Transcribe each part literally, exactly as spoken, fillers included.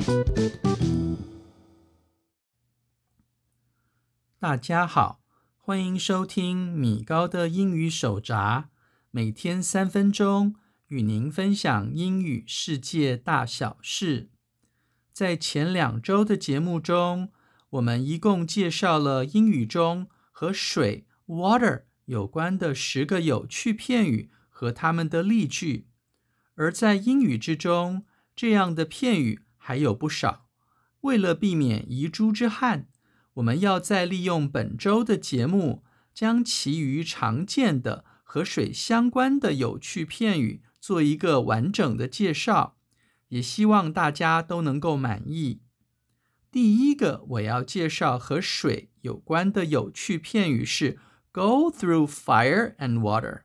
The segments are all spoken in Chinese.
大家好，歡迎收聽米高的英語手札，每天三分鐘，與您分享英語世界大小事。在前兩週的節目中，我們一共介紹了英語中和水 water 有關的十個有趣片語和它們的例句。而在英語之中，這樣的片語還有不少。為了避免遺珠之憾，我們要再利用本週的節目，將其餘常見的和水相關的有趣片語做一個完整的介紹，也希望大家都能夠滿意。第一個我要介紹和水有關的有趣片語是 Go through fire and water.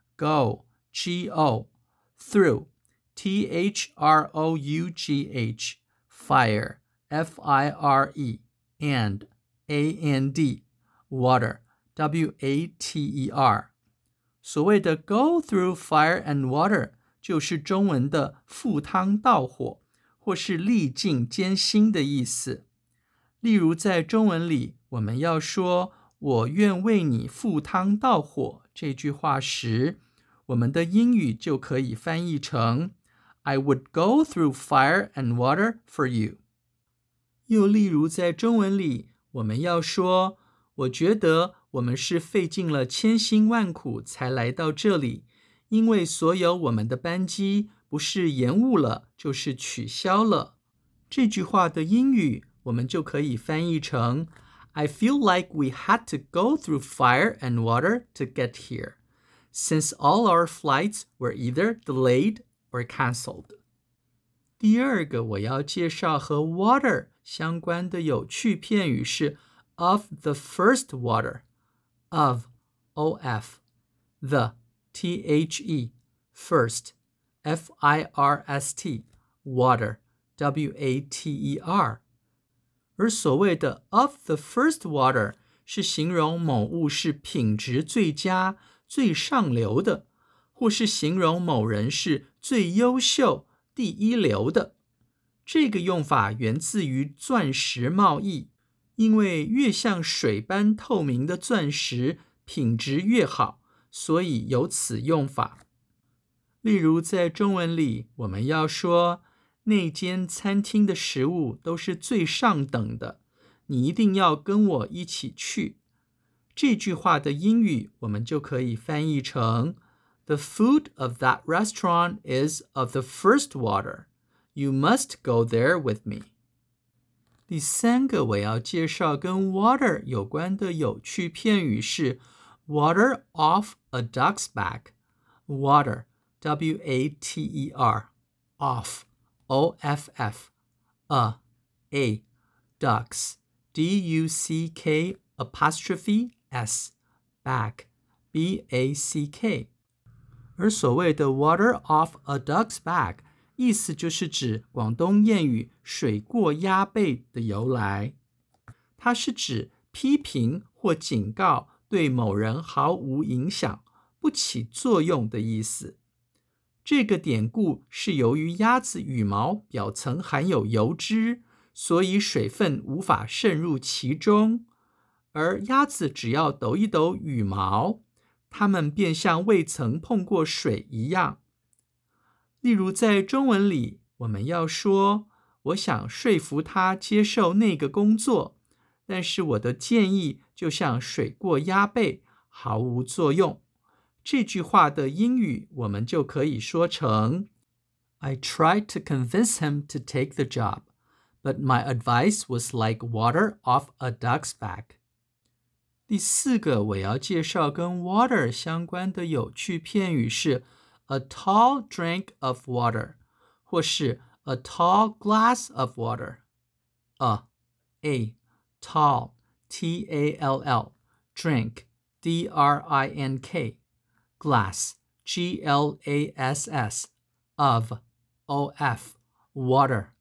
Go, G O, through, T H R O U G H, fire, F I R E, and A N D, water, W A T E R. 所謂的 go through fire and water 就是中文的赴湯蹈火，或是歷盡艱辛的意思。例如在中文裡，我們要說我願為你赴湯蹈火這句話時，我們的英語就可以翻譯成 I would go through fire and water for you. 又例如在中文裡，我們要說，我覺得我們是費盡了千辛萬苦才來到這裡，因為所有我們的班機不是延誤了，就是取消了。這句話的英語，我們就可以翻譯成 I feel like we had to go through fire and water to get here, since all our flights were either delayed or canceled. 第二個我要介紹和 water 相關的有趣片語是 of the first water. Of, O F, the, T H E, first, F I R S T, water, W A T E R. 而所謂的 of the first water 是形容某物是品質最佳、最上流的，或是形容某人是最優秀、第一流的。這個用法源自於鑽石貿易，因為越像水般透明的鑽石，品質越好，所以有此用法。例如在中文裡，我們要說那間餐廳的食物都是最上等的，你一定要跟我一起去。這句話的英語我們就可以翻譯成 The food of that restaurant is of the first water. You must go there with me. 第三個我要介紹跟 water 有關的有趣片語是 water off a duck's back. Water, W A T E R, off, O F F, a, a, ducks, D U C K apostrophe S, back, B A C K. 而所謂的 water off a duck's back意思就是指廣東諺語水過鴨背的由來，它是指批評或警告對某人毫無影響、不起作用的意思。這個典故是由於鴨子羽毛表層含有油脂，所以水分無法滲入其中，而鴨子只要抖一抖羽毛，它們便像未曾碰過水一樣。例如在中文裡，我們要說我想說服他接受那個工作，但是我的建議就像水過鴨背，毫無作用。這句話的英語我們就可以說成 I tried to convince him to take the job, but my advice was like water off a duck's back. 第四個我要介紹跟 water 相關的有趣片語是A tall drink of water, 或是 a tall glass of water. A, a, tall, T A L L, drink, D R I N K, glass, G L A S S, of, O F, water,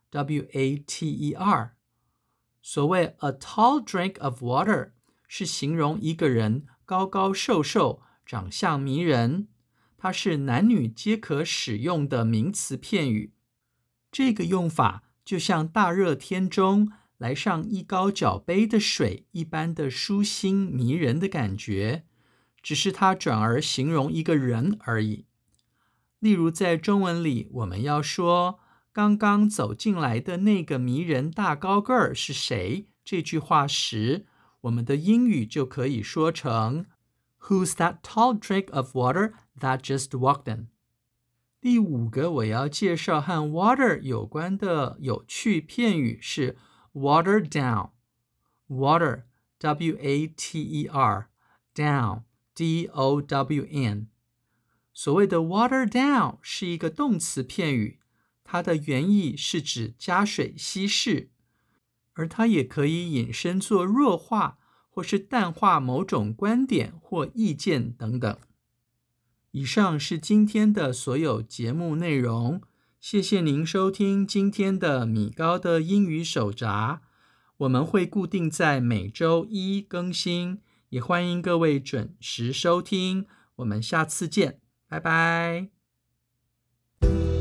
W A T E R. 所謂 a tall drink of water 是形容一個人高高瘦瘦，長相迷人。它是男女皆可使用的名詞片語。這個用法就像大熱天中來上一高腳杯的水一般的舒心迷人的感覺，只是它轉而形容一個人而已。例如在中文裡，我們要說剛剛走進來的那個迷人大高個兒是誰這句話時，我們的英語就可以說成 Who's that tall drake of water that just walked in? 第五個我要介紹和 water 有關的有趣片語是 water down. Water, W A T E R, down, D O W N. 所謂的 water down 是一個動詞片語，它的原意是指加水稀釋，而它也可以引申作弱化或是淡化某種觀點或意見等等。以上是今天的所有節目內容，謝謝您收聽今天的米高的英語手札。我們會固定在每週一更新，也歡迎各位準時收聽。我們下次見，拜拜。